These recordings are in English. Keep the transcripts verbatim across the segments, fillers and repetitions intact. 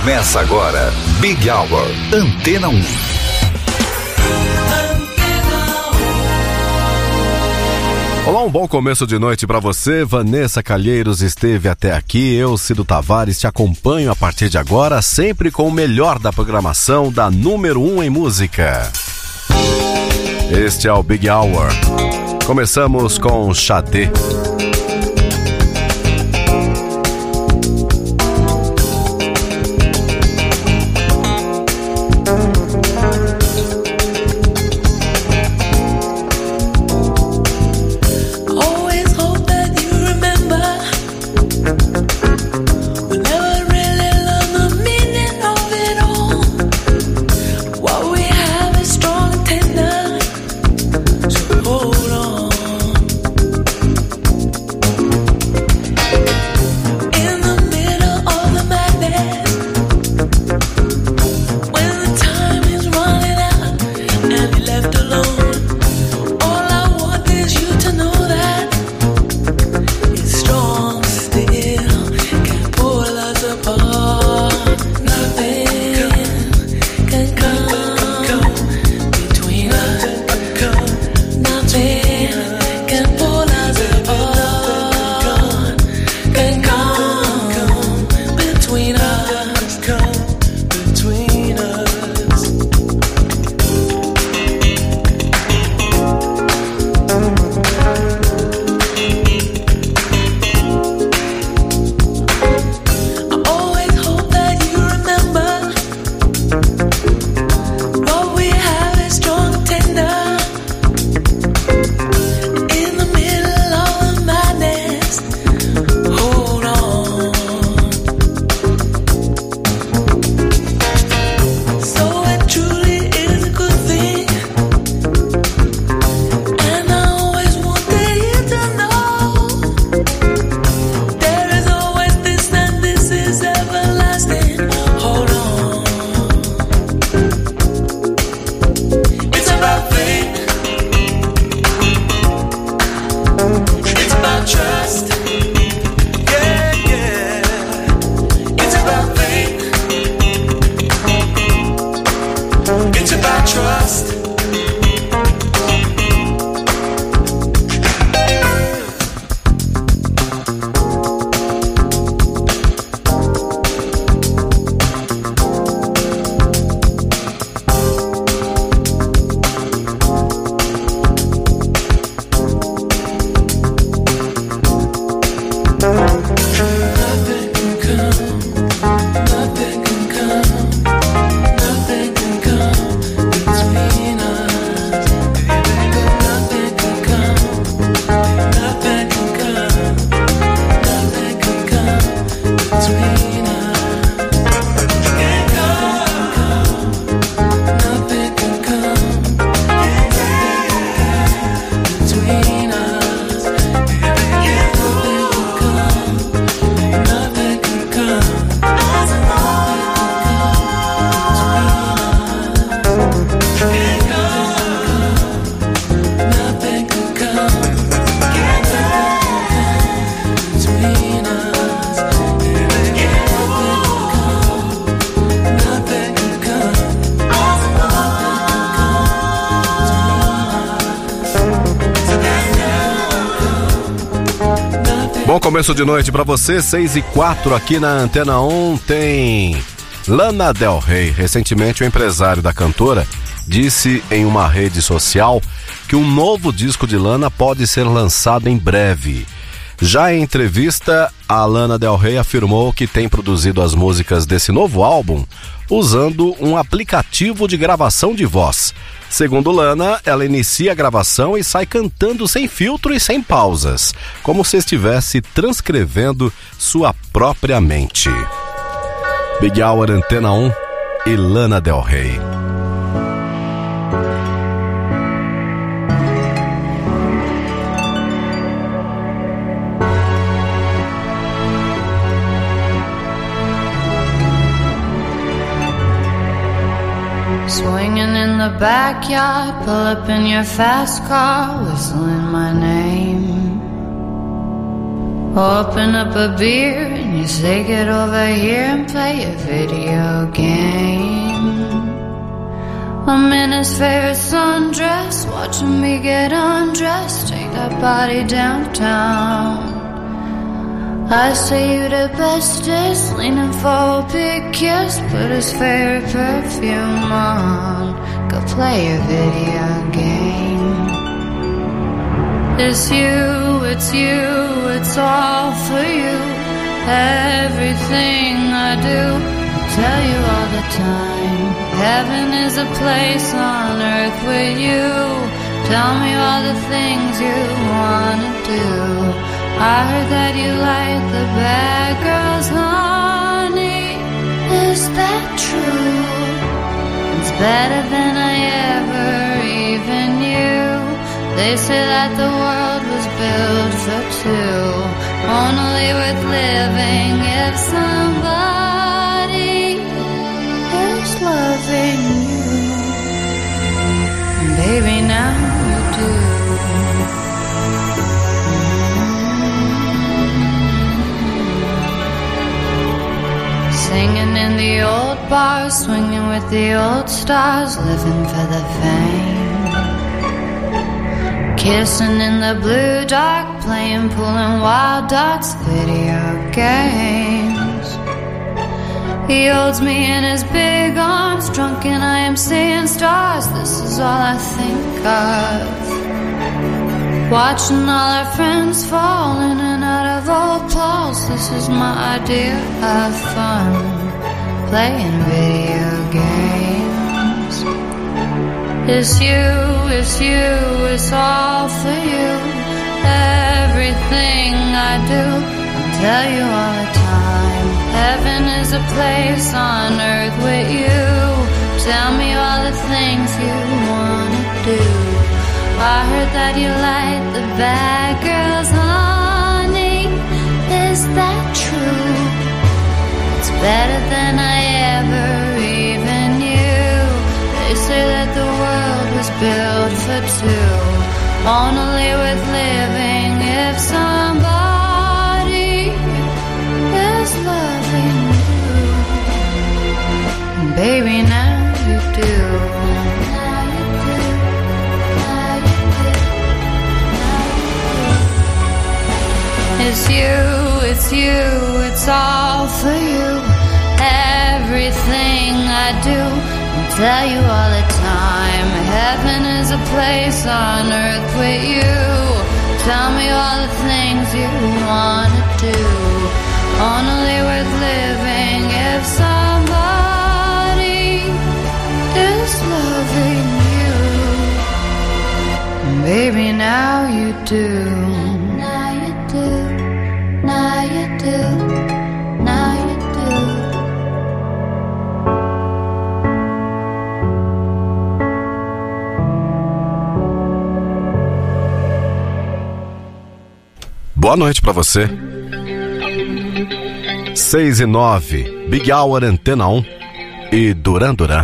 Começa agora, Big Hour, Antena um. Olá, um bom começo de noite pra você. Vanessa Calheiros esteve até aqui. Eu, Cido Tavares, te acompanho a partir de agora, sempre com o melhor da programação da número um em música. Este é o Big Hour. Começamos com Xadê. Bom começo de noite pra você, seis e quatro aqui na Antena um. Tem Lana Del Rey. Recentemente o empresário da cantora disse em uma rede social que um novo disco de Lana pode ser lançado em breve. Já em entrevista, a Lana Del Rey afirmou que tem produzido as músicas desse novo álbum usando um aplicativo de gravação de voz. Segundo Lana, ela inicia a gravação e sai cantando sem filtro e sem pausas, como se estivesse transcrevendo sua própria mente. Big Hour, Antena um e Lana Del Rey. Swinging in the backyard, pull up in your fast car, whistling my name. Open up a beer and You say get over here and play a video game. I'm in his favorite sundress, watching me get undressed, take that body downtown. I say you the bestest, leaning for a big kiss, put his favorite perfume on, go play a video game. It's you, it's you, it's all for you. Everything I do, I tell you all the time. Heaven is a place on earth with you. Tell me all the things you wanna do. I heard that you like the bad girls, honey. Is that true? It's better than I ever even knew. They say that the world was built for two, only worth living if somebody is loving you. And baby, now you do. Singing in the old bars, swinging with the old stars, living for the fame. Kissing in the blue dark, playing pool and wild dots, video games. He holds me in his big arms, drunk and I am seeing stars. This is all I think of. Watching all our friends fall in and out of old clothes. This is my idea of fun, playing video games. It's you, it's you, it's all for you. Everything I do, I'll tell you all the time. Heaven is a place on earth with you. Tell me all the things you wanna do. I heard that you like the bad girls, honey. Is that true? It's better than I ever even knew. They say that the world was built for two, only worth living if somebody is loving you. And baby, now you do. Now you do. Now you do. Now you do. It's you, it's you, it's all for you. Everything I do, tell you all the time. Heaven is a place on earth with you. Tell me all the things you wanna do, only worth living if somebody is loving you. Baby, now you do. Now you do. Now you do. Now you do. Boa noite pra você. seis e nove, Big Hour Antena um e Duran Duran.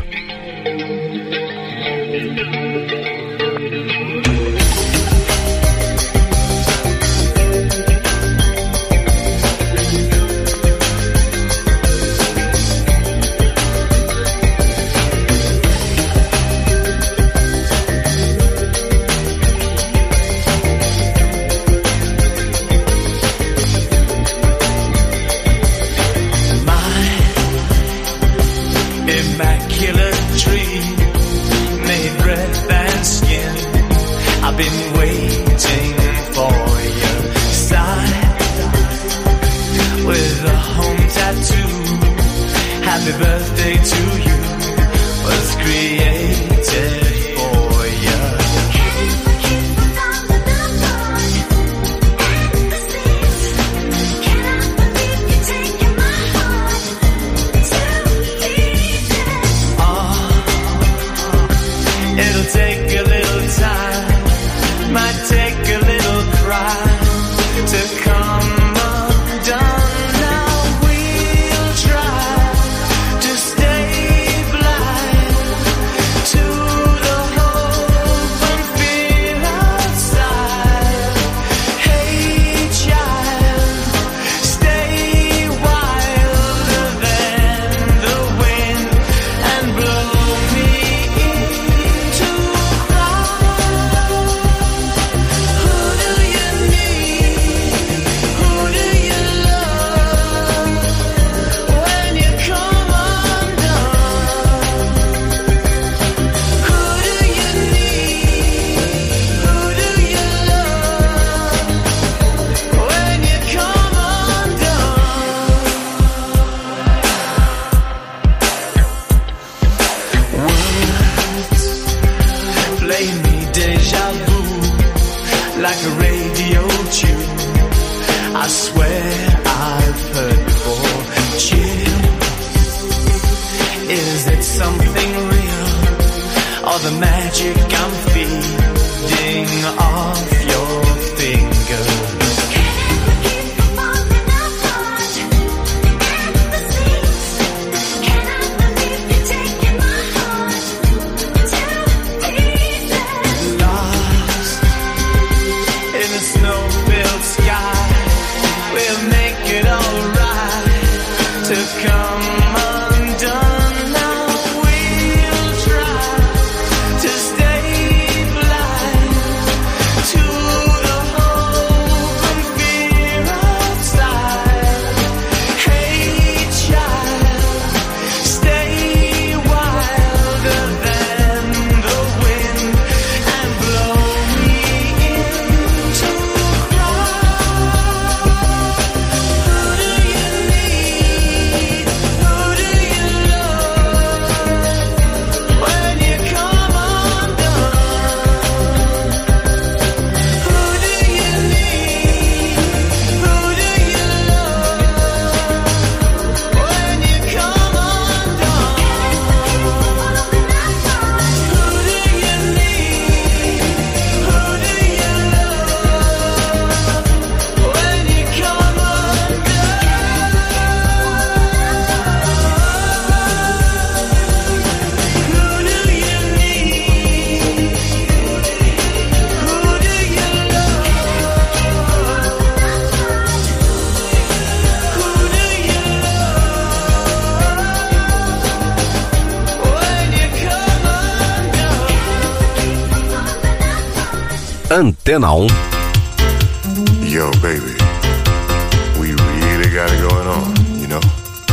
Stay blind Is it something real, or the magic I'm feeding off your fingers? Antena um. Yo, baby, we really got it going on, you know?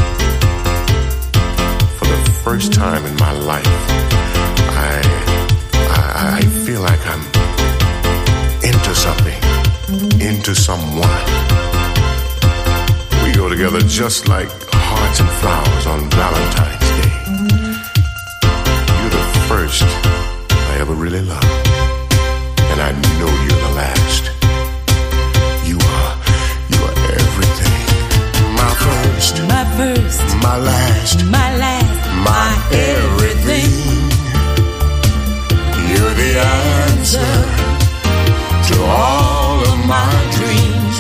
For the first time in my life, I, I, I feel like I'm into something, into someone. We go together just like hearts and flowers on Valentine's Day. You're the first I ever really loved. And I know you're the last. You are, you are everything. My first, my first, my last, my last, my, my everything. You're the answer to all of my dreams.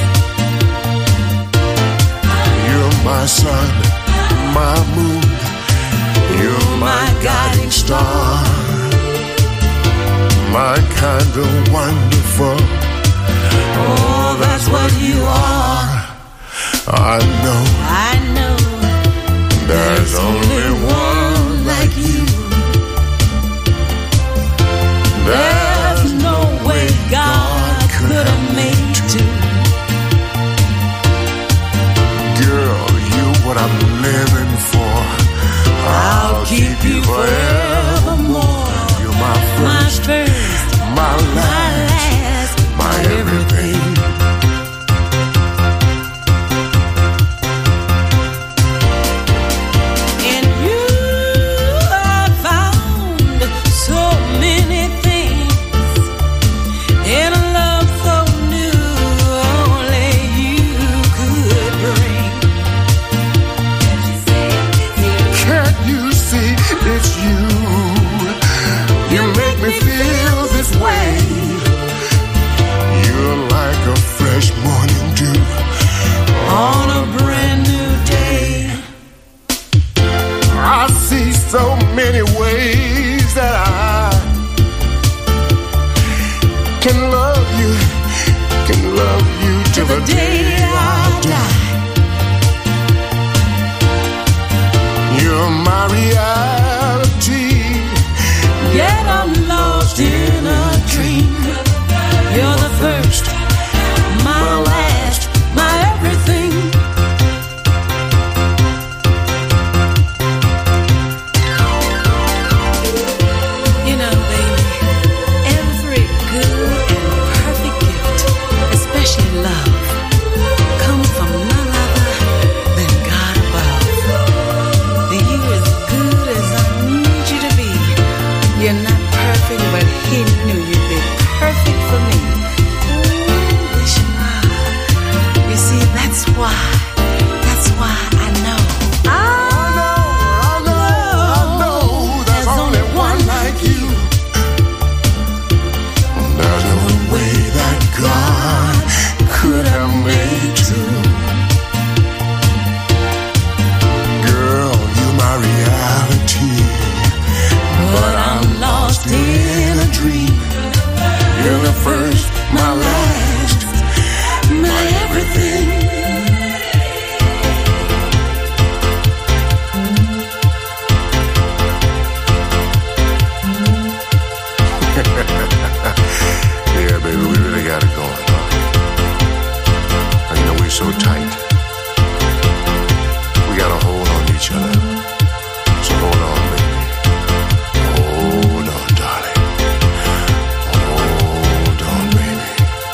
You're my sun, my moon. You're my guiding star. My kind of wonderful. Oh, that's what you are. I know, I know. There's only one like you. There's no way God could have made two. Girl, you're what I'm living for. I'll keep you forevermore. You're my first, my first, my last, my, last, my everything. In you I found so many things. In a love so new, only you could bring. Can't you see it's you? You make me feel this way. You're like a fresh morning dew On a brand new day. I see so many ways that I can love you, can love you till the day I die. You're my reality. Yet I'm lost in a dream. You're the first, my last, my everything. You know, baby, every good and perfect gift, especially love, comes from none each other. So hold on, baby. Hold on, darling. Hold on, baby.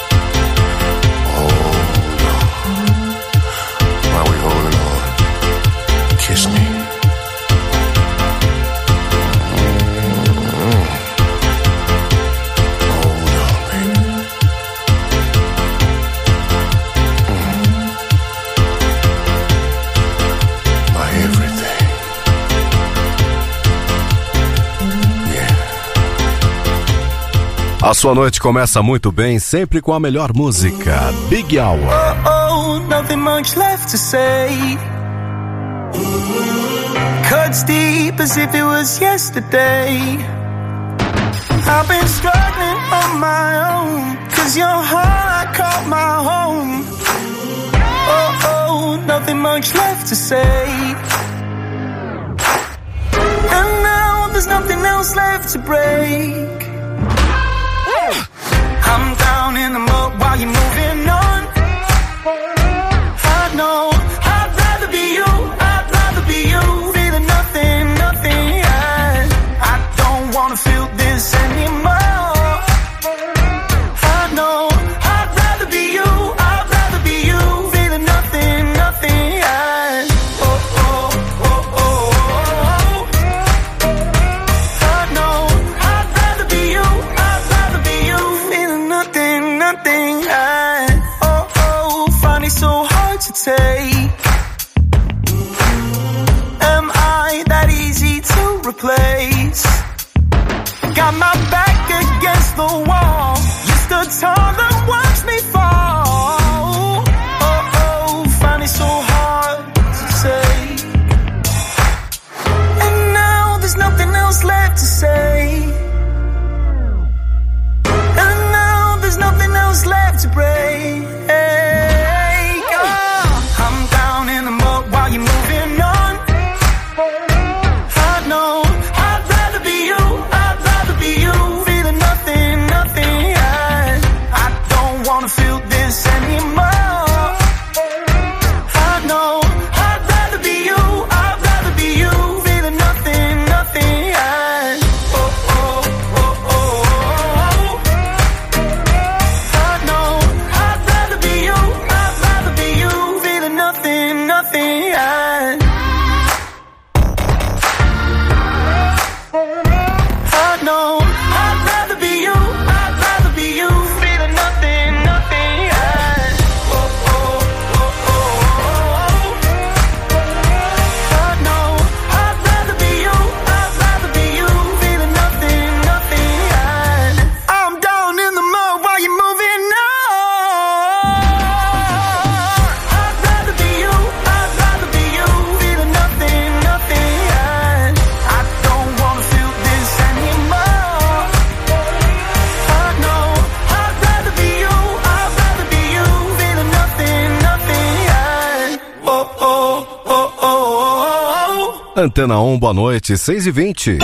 Hold on. While we holding on, kiss me. A sua noite começa muito bem, sempre com a melhor música. Big Hour. Oh, oh, nothing much left to say. Cuts deep as if it was yesterday. I've been struggling on my own, 'cause your heart I call my home. Oh, oh, nothing much left to say. And now there's nothing else left to break. I'm down in the mud while you're moving on. I know I'd rather be you, I'd rather be you. Feeling nothing, nothing, yeah. I don't wanna feel this anymore. I know I'd rather be you, I'd rather be you. Feeling nothing, nothing, yeah. Oh, oh, oh, oh, oh, oh. I know I'd rather be you, I'd rather be you. Feeling nothing, nothing, yeah. Oh, oh, find it so hard to take. Am I that easy to replace? Got my back against the wall. You stood tall and watched me fall. Oh, oh, find it so hard to say. And now there's nothing else left to say. And now there's nothing else left to break. Oh, I'm down in the mud while you're moving on. I know I'd rather be you, I'd rather be you. Feeling nothing, nothing, yeah. I don't wanna feel this anymore. I know I'd rather be you, I'd rather be you. Feeling nothing, nothing, yeah. Oh, oh, oh, oh, oh, oh. I know I'd rather be you, I'd rather be you. Feeling nothing, nothing, yeah. I know I'd rather be you, I'd rather be you. Feeling nothing, nothing, yeah. Oh, oh, oh, oh, oh. I know I'd rather be you, I'd rather be you. Feeling nothing, nothing, yeah. I'm down in the mud while you're moving on. I'd rather be you, I'd rather be you. Feeling nothing, nothing, yeah. I don't wanna feel this anymore. I know I'd rather be you, I'd rather be you. Feeling nothing, nothing, yeah. Oh, oh, oh, oh, oh, oh. Antena um, boa noite, seis e vinte.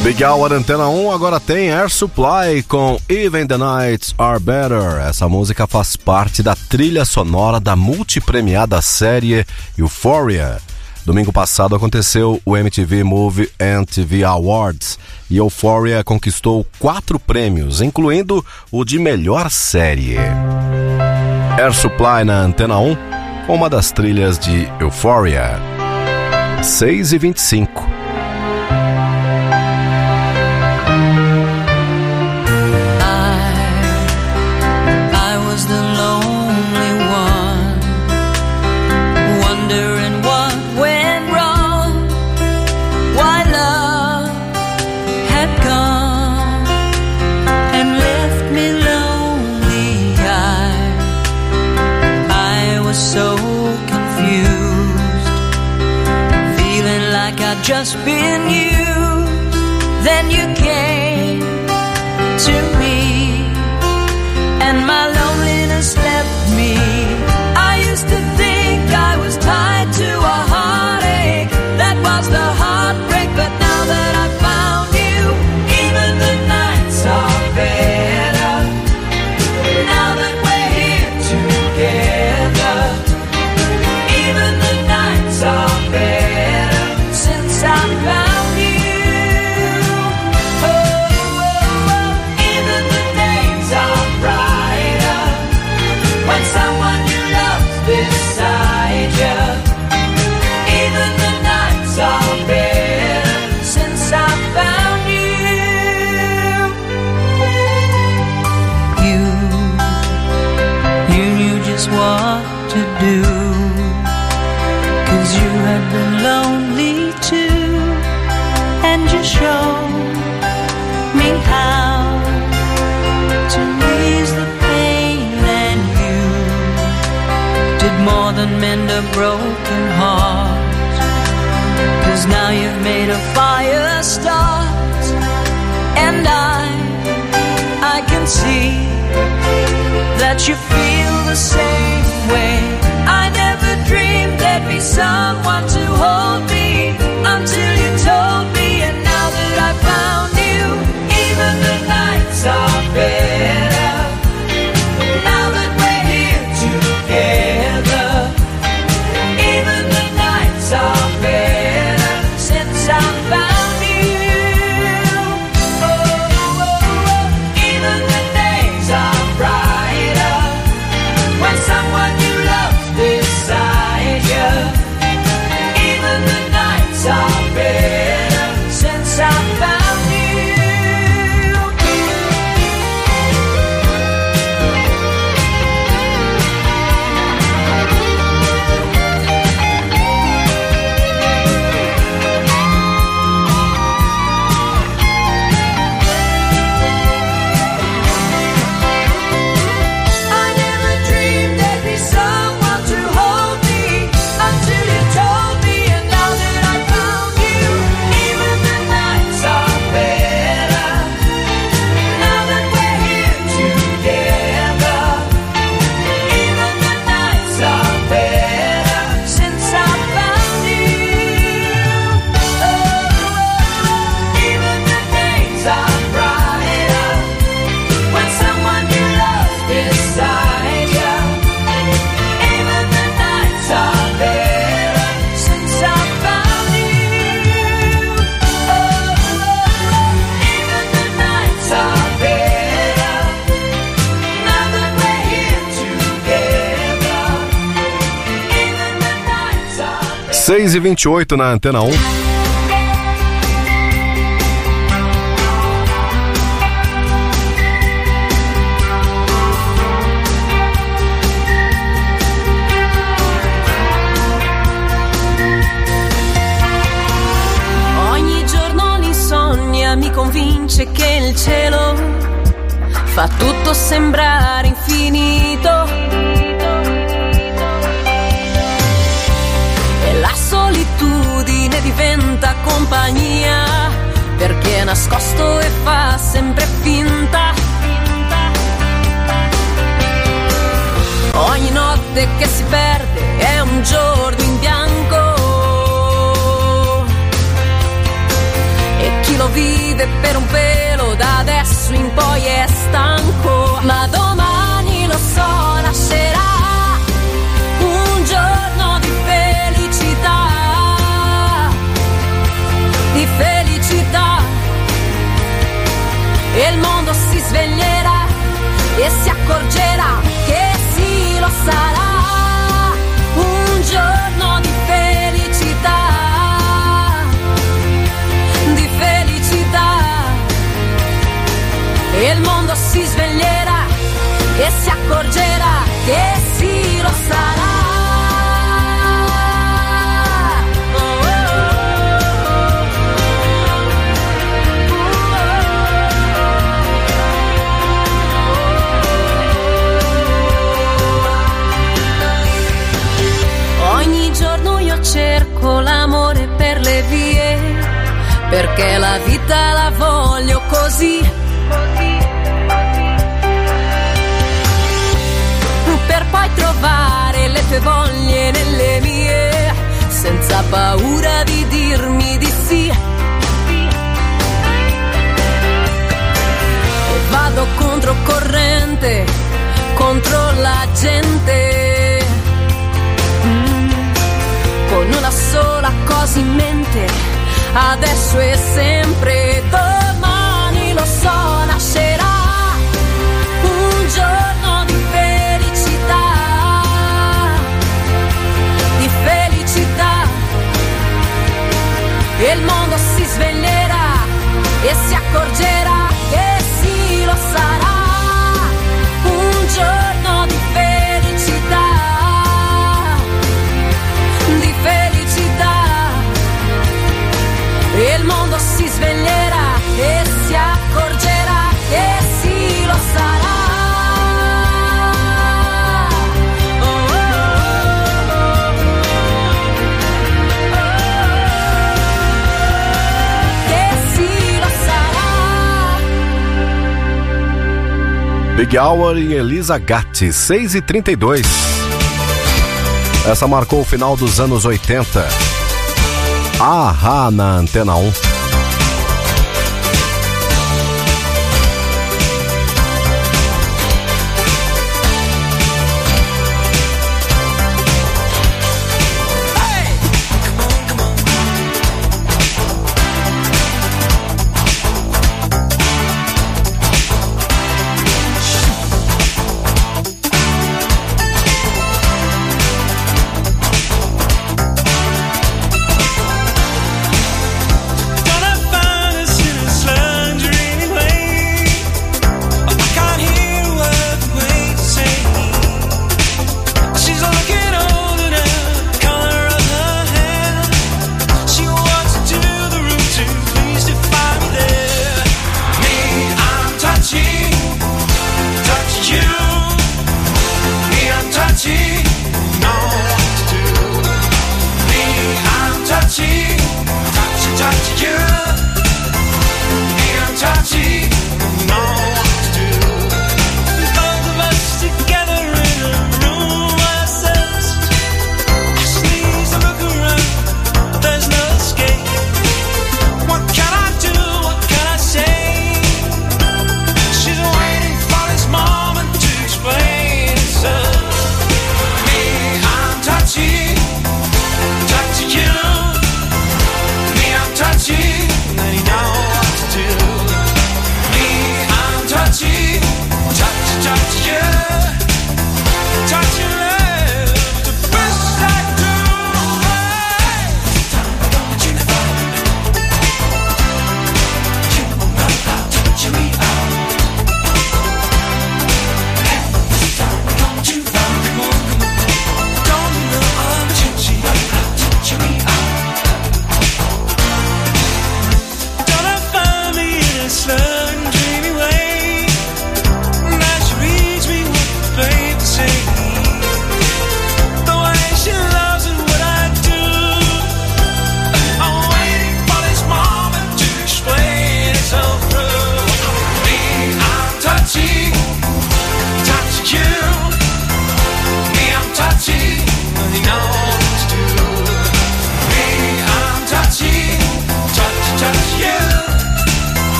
Big Hour Antena um agora tem Air Supply com Even the Nights Are Better. Essa música faz parte da trilha sonora da multipremiada série Euphoria. Domingo passado aconteceu o M T V Movie and T V Awards e Euphoria conquistou quatro prêmios, incluindo o de melhor série. Air Supply na Antena um com uma das trilhas de Euphoria. seis e vinte e cinco. Just been used, then you came to me, and my loneliness left me. I used to think I was tied to a heartache, that was the heartbreak, but now that I found you, even the nights are better, now that we're here together, even the nights are better. I found you, oh, oh, oh. Even the days are brighter when someone you love's beside you. Even the nights are better since I found you. You, you knew just what to do, 'cause you had been lonely too. And you show me how to ease the pain, and you did more than mend a broken heart, 'cause now you've made a fire start, and I, I can see that you feel the same way. I never dreamed there'd be someone to hold me until you told me. I found you, even the nights are better, now that we're here together, even the nights are better since I found you, oh, oh, oh. Even the days are brighter when someone you love's beside you, even the nights are better since I found. seis e vinte e oito na Antena um. Ogni giorno l'insonnia mi convince che il cielo fa tutto sembrare infinito. La solitudine diventa compagnia, perché è nascosto e fa sempre finta. Ogni notte che si perde è un giorno in bianco, e chi lo vive per un pelo, da adesso in poi è stanco, ma domani lo so, nascerà un giorno di felicità, di felicità, e il mondo si sveglierà e si accorgerà che sì, lo sarà un giorno di felicità, di felicità, e il mondo si sveglierà e si accorgerà che sì, lo sarà. Ogni giorno io cerco l'amore per le vie, perché la vita la voglio così, per poi trovare le tue voglie nelle mie, senza paura di dirmi di sì. E vado controcorrente, contro la gente, mm, con una sola cosa in mente, adesso e sempre, domani lo so, nascerà un giorno di felicità, di felicità, e il mondo si sveglierà e si accorgerà che sì, lo sarà un giorno di felicità, di felicità, e il mondo si sveglierà e si accorgerà che sì, lo sarà. Oh, oh, oh, oh. Che sì, lo sarà. Big Hour e Elisa Gatti, seis e trinta e dois. Essa marcou o final dos anos oitenta. Ahá na Antena um. Don't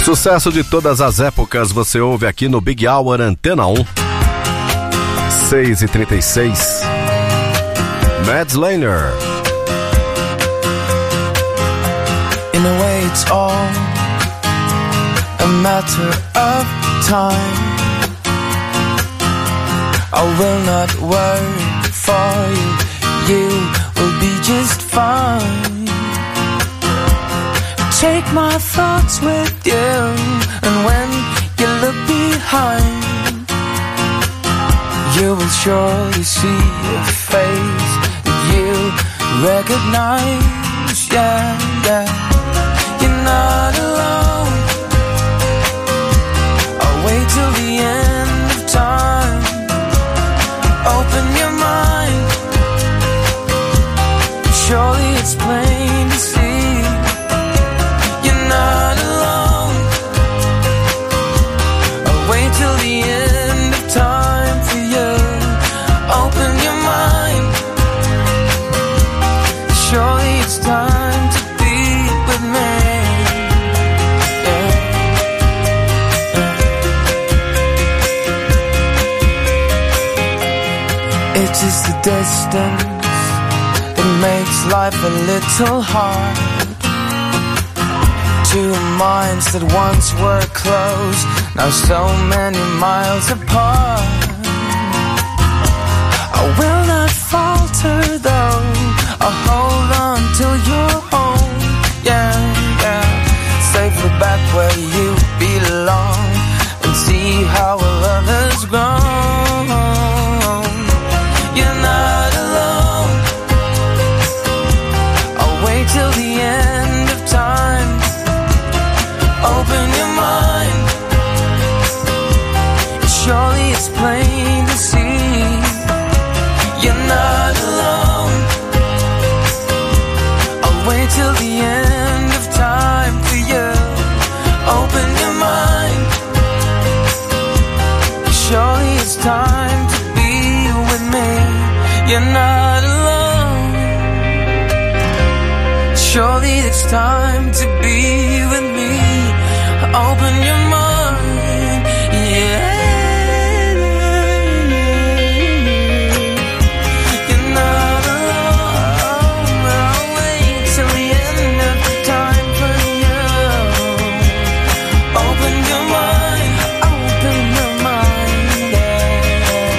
Sucesso de todas as épocas você ouve aqui no Big Hour Antena um. seis e trinta e seis. Mads Laner. In a way it's all a matter of time. I will not worry for you, you will be just fine. Take my thoughts with you, and when you look behind, you will surely see a face that you recognize. Yeah, yeah. You're not alone. I'll wait till the end of time. Open your mind. Surely it's plain to see. You're not alone. I'll wait till the end of time for you. Open your mind. Surely it's time to be with me. Yeah. Yeah. It is the distance that makes life a little hard. Two minds that once were close, now so many miles apart. I will not falter though, I'll hold on till you're home. Yeah, yeah. Safely back where you belong, and see how our love has grown. You're not alone. I'll wait till the end of time. Open your mind. Surely it's plain to see. You're not alone. I'll wait till the end of time for you. Open your mind. Surely it's time to be with me. You're not alone. Surely it's time to be with me. Open your mind, yeah. You're not alone. I'll wait till the end of time for you. Open your mind, open your mind, yeah.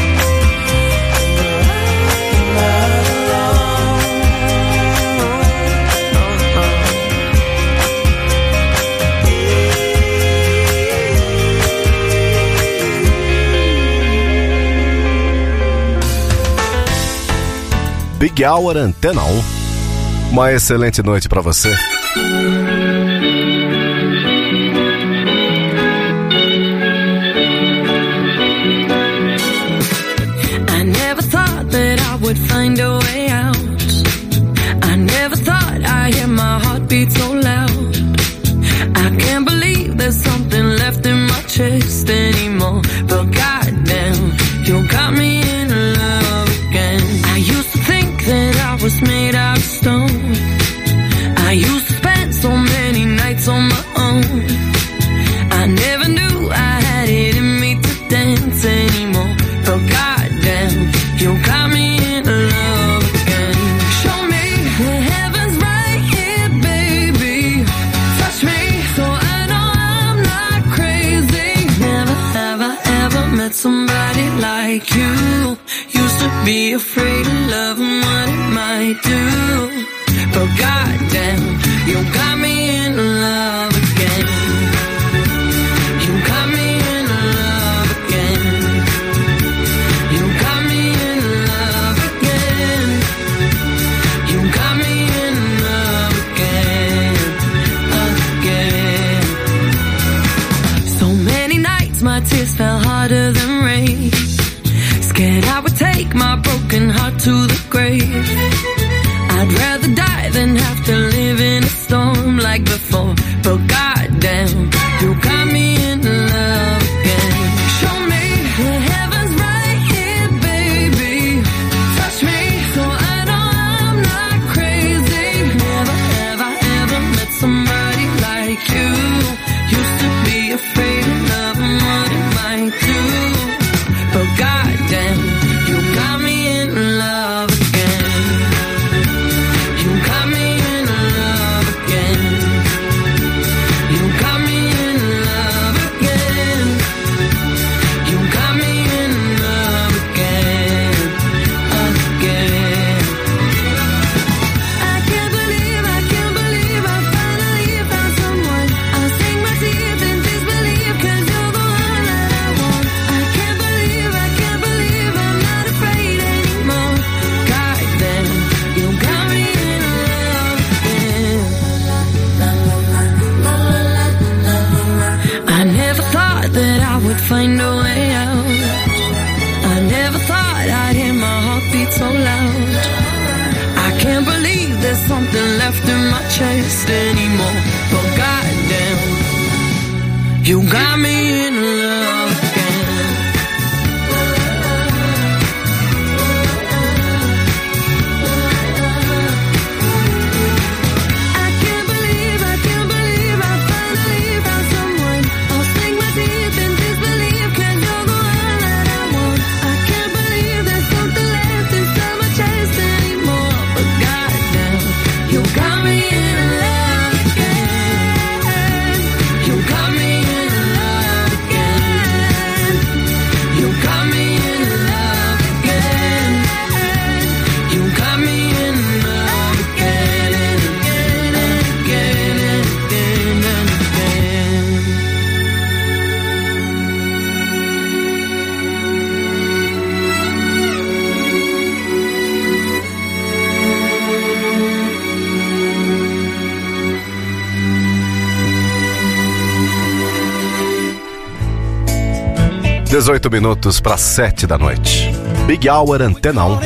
You're not alone. No, no. Big Hour Antena um. Uma excelente noite pra você. I never thought that I would find a way out. I never thought I'd hear my heartbeat so loud. I can't believe there's something left in my chest anymore. But goddamn, you got me in love again. I used to think that I was made out of stone. I used to spend so many nights on my own. I never knew I had it in me to dance anymore. But goddamn, you got me in love again. Show me the heavens right here, baby. Touch me so I know I'm not crazy. Never have I ever met somebody like you. Used to be afraid of love and what it might do. But goddamn, you got me in love again. You got me in love again. You got me in love again. You got me in love again, again. So many nights my tears fell harder than rain. Scared I would take my broken heart to the grave. I'd rather die than have to live in a storm like before. But goddamn, you got me in love again. Show me the heavens right here, baby. Touch me so I know I'm not crazy. Never have I ever met somebody like you. You find a way out. I never thought I'd hear my heartbeat so loud. I can't believe there's something left in my chest anymore. But goddamn, you got me in love again. dezoito minutos para sete da noite. Big Hour Antena um.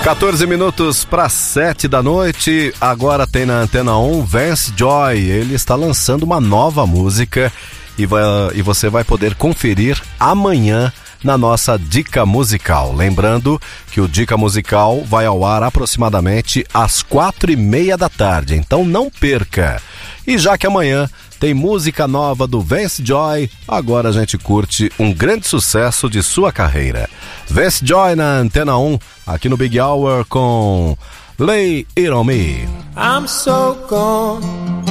quatorze minutos para sete da noite, agora tem na Antena um Vance Joy. Ele está lançando uma nova música e, vai, e você vai poder conferir amanhã na nossa Dica Musical. Lembrando que o Dica Musical vai ao ar aproximadamente às quatro e meia da tarde, então não perca. E já que amanhã tem música nova do Vance Joy, agora a gente curte um grande sucesso de sua carreira. Vance Joy na Antena um, aqui no Big Hour com Lay It On Me. I'm so gone.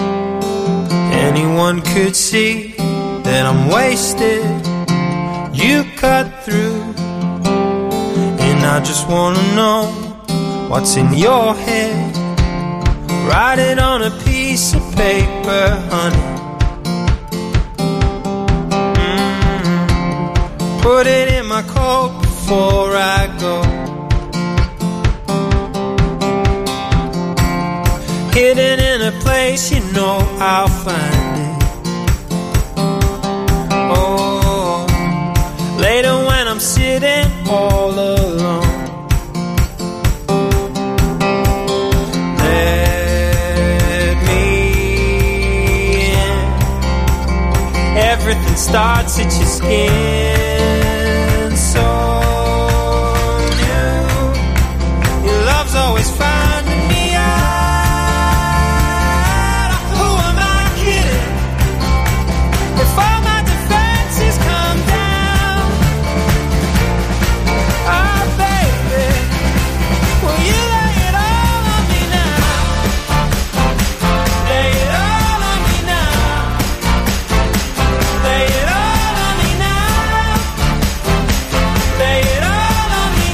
Anyone could see that I'm wasted. You cut through, and I just wanna know what's in your head. Write it on a piece of paper, honey. Mm-hmm. Put it in my coat before I go. Hidden in a place you know I'll find it. Oh, later when I'm sitting all alone, let me in. Everything starts at your skin, so new. Your love's always finding me out. Who am I kidding? If all my defenses come down, oh baby, will you lay it all on me now? Lay it all on me now. Lay it all on me now. Lay it all on me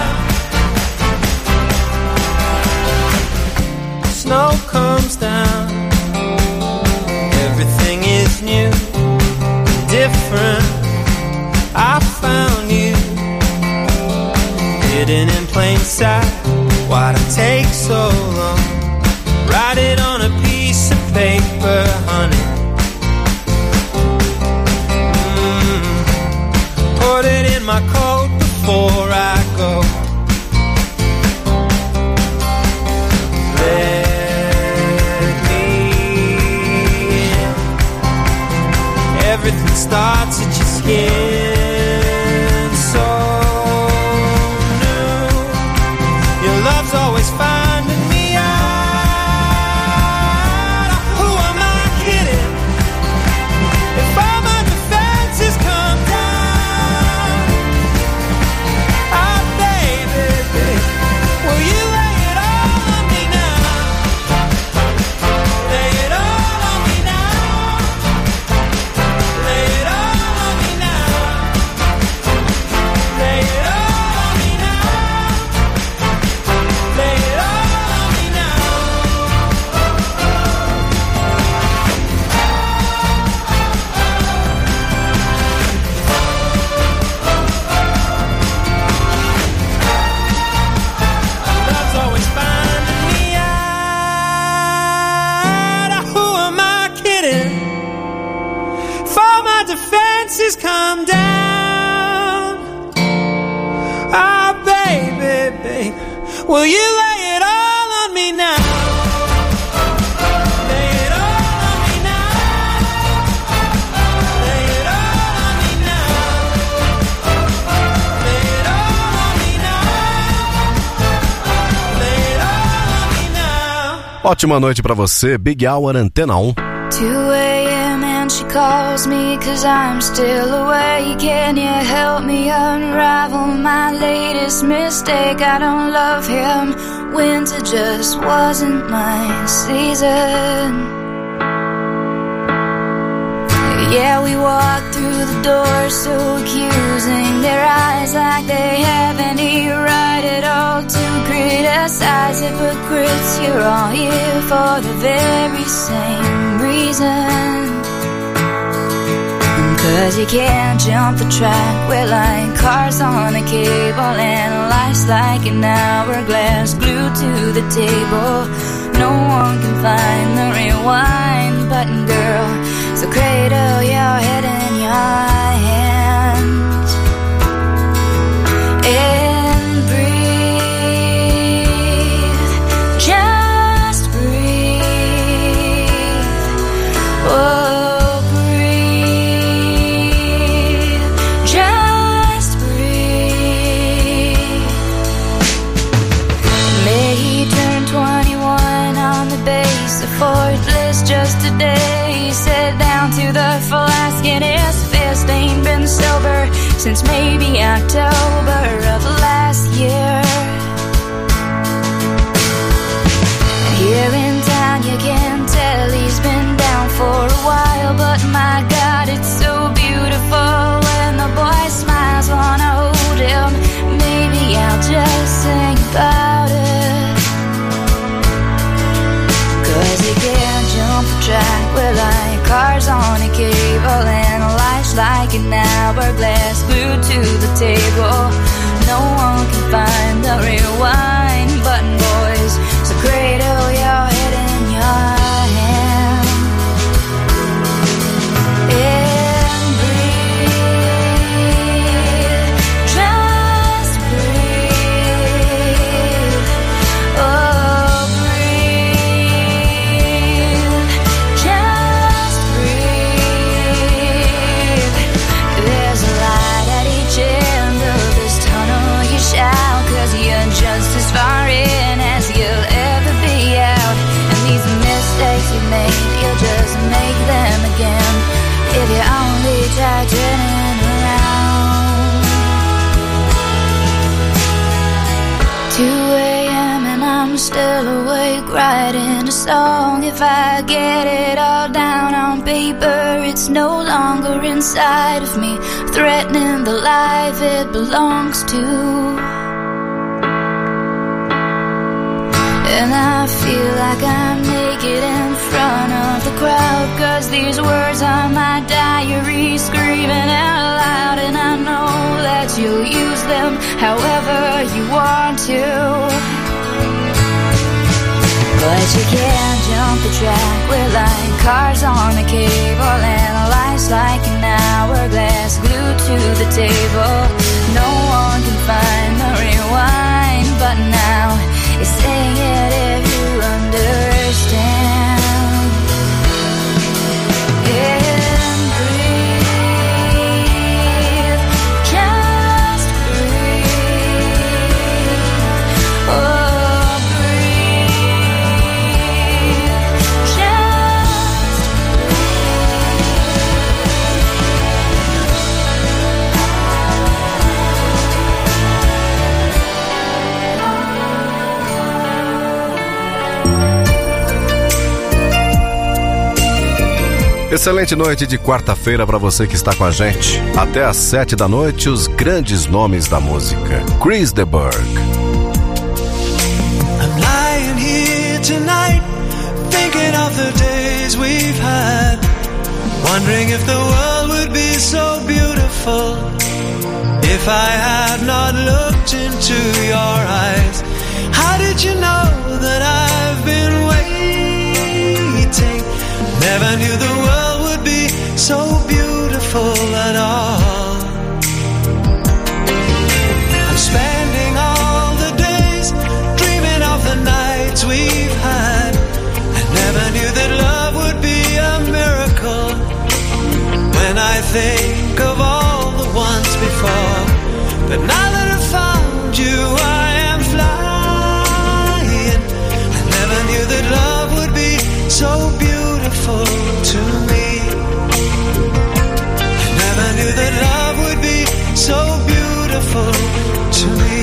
now. Snow comes down, everything is new, different. I found you hidden in plain sight. Why'd it take so long? Write it on a piece of paper, honey. Mm. Put it in my coat before I go. Let me in. Everything starts at your skin, so new. Your love's always finding me out. Who am I kidding? If all my defenses come down, oh baby, will you lay it all on me now? Lay it all on me now. Lay it all on me now. Lay it all on me now. Lay it all on me now. Love's always finding me out. Who am I kidding? For my defenses come down. Ah, baby, baby, will you lay it all on me now? Lay it all on me now. Lay it all on me now. Lay it all on me now. Lay it all on me now. Ótima noite pra você, Big Hour Antena um. two a.m. and she calls me cause I'm still awake. Can you help me unravel my latest mistake? I don't love him, winter just wasn't my season. Yeah, we walked through the door so accusing, their eyes like they have any right at all to criticize. Hypocrites, you're all here for the very same reason. Cause you can't jump the track, we're like cars on a cable, and life's like an hourglass glued to the table. No one can find the rewind button, girl, so cradle your head in your hands and breathe. since maybe October of last year. Here in town you can tell he's been down for a while, but my God, it's so beautiful when the boy smiles. Wanna hold him, maybe I'll just sing about it. Cause he can't jump the track, we're like cars on a cable, and life's like an hourglass glued to the table. No one can find the rewind button, boys, so cradle your head in your hand and breathe, just breathe, oh breathe, just breathe. There's a light at each end of this tunnel you shout, cause you're just as far in as you'll ever be out. And these mistakes you made, you'll just make them again if you only try turning around. two a.m. and I'm still awake writing a song. If I get it all down on paper, it's no longer inside of me, threatening the life it belongs to. And I feel like I'm naked in front of the crowd, cause these words are my diary screaming out loud. And I know that you'll use them however you want to, but you can't jump the track, we're like cars on a cable, and life's like an hourglass glued to the table. No one can find the rewind button now. Sing it if you understand. And breathe, just breathe, oh breathe, just Excelente noite de quarta-feira para você que está com a gente. Até às sete da noite, os grandes nomes da música. Chris de Burgh. I'm lying here tonight, thinking of the days we've had, wondering if the world would be so beautiful if I had not looked into your eyes. How did you know that I've been waiting? Never knew the world would be so beautiful at all. I'm spending all the days dreaming of the nights we've had. I never knew that love would be a miracle. When I think of all the ones before, but now that I've found you, I am flying. I never knew that love would be so beautiful to me. I never knew that love would be so beautiful to me.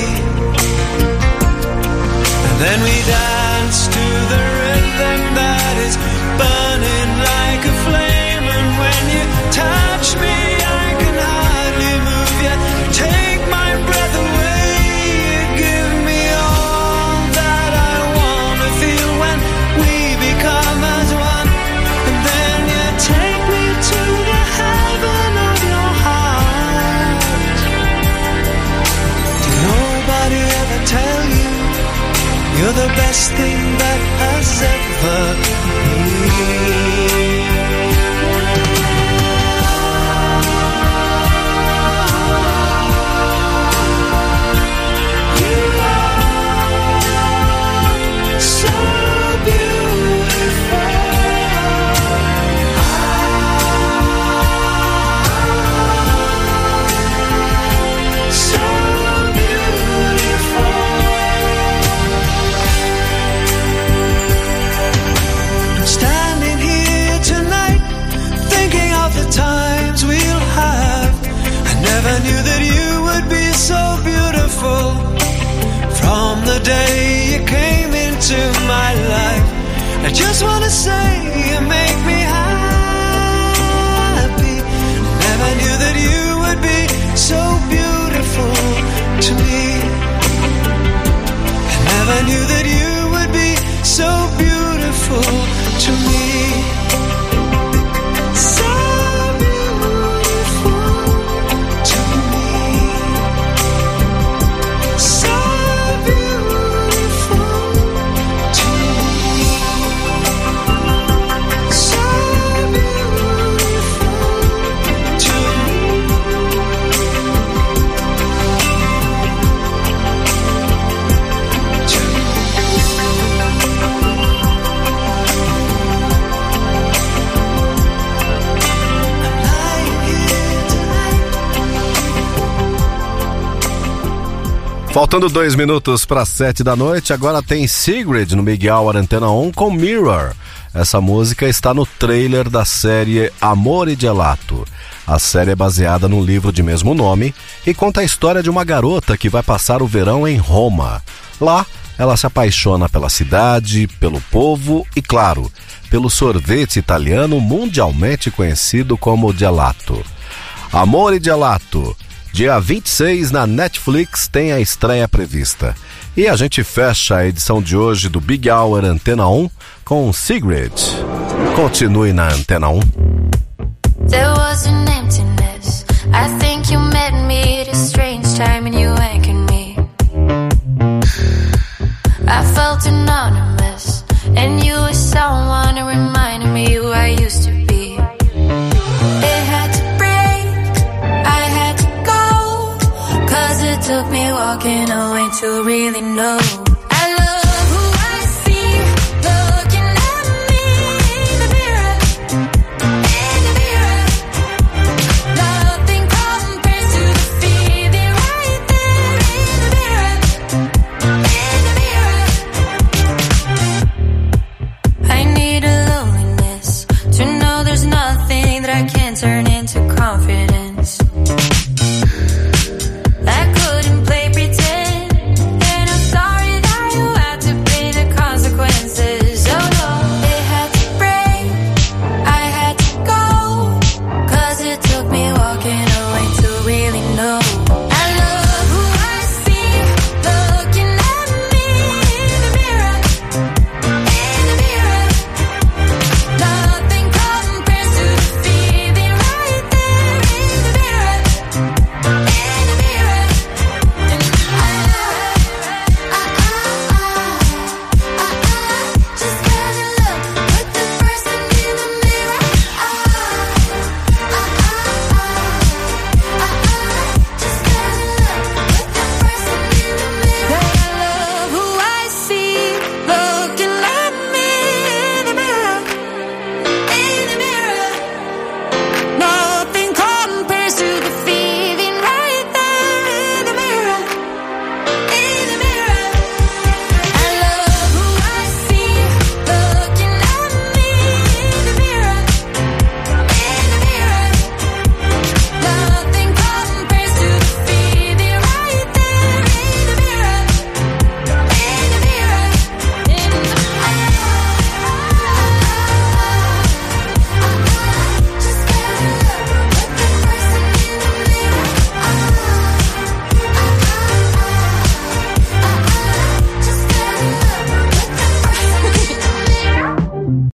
And then we danced to the rhythm that is burning like a flame. And when you touch me, I can hardly move yet. Take my breath away. You give me all that I want to feel when we become as one. And then you take me to the heaven of your heart. Did nobody ever tell you you're the best thing that has ever been? Standing here that you would be so beautiful. From the day you came into my life, I just wanna say you make me happy. Never knew that you would be so beautiful to me. I never knew that you would be so beautiful to me. So Faltando dois minutos para sete da noite, agora tem Sigrid no Big Hour Antena um com Mirror. Essa música está no trailer da série Amore Gelato. A série é baseada no livro de mesmo nome e conta a história de uma garota que vai passar o verão em Roma. Lá, ela se apaixona pela cidade, pelo povo e, claro, pelo sorvete italiano mundialmente conhecido como gelato. Amore Gelato. Dia vinte e seis na Netflix tem a estreia prevista. E a gente fecha a edição de hoje do Big Hour Antena um com Sigrid. Continue na Antena um. There was an emptiness. I think you met me at a strange time and you anchored me. I felt anonymous and you were someone who reminded me who I used to be. It had to It took me walking away to really know. I love who I see looking at me in the mirror, in the mirror. Nothing compares to the feeling right there in the mirror, in the mirror. I need a loneliness to know there's nothing that I can't turn into confidence. Walking away to really know.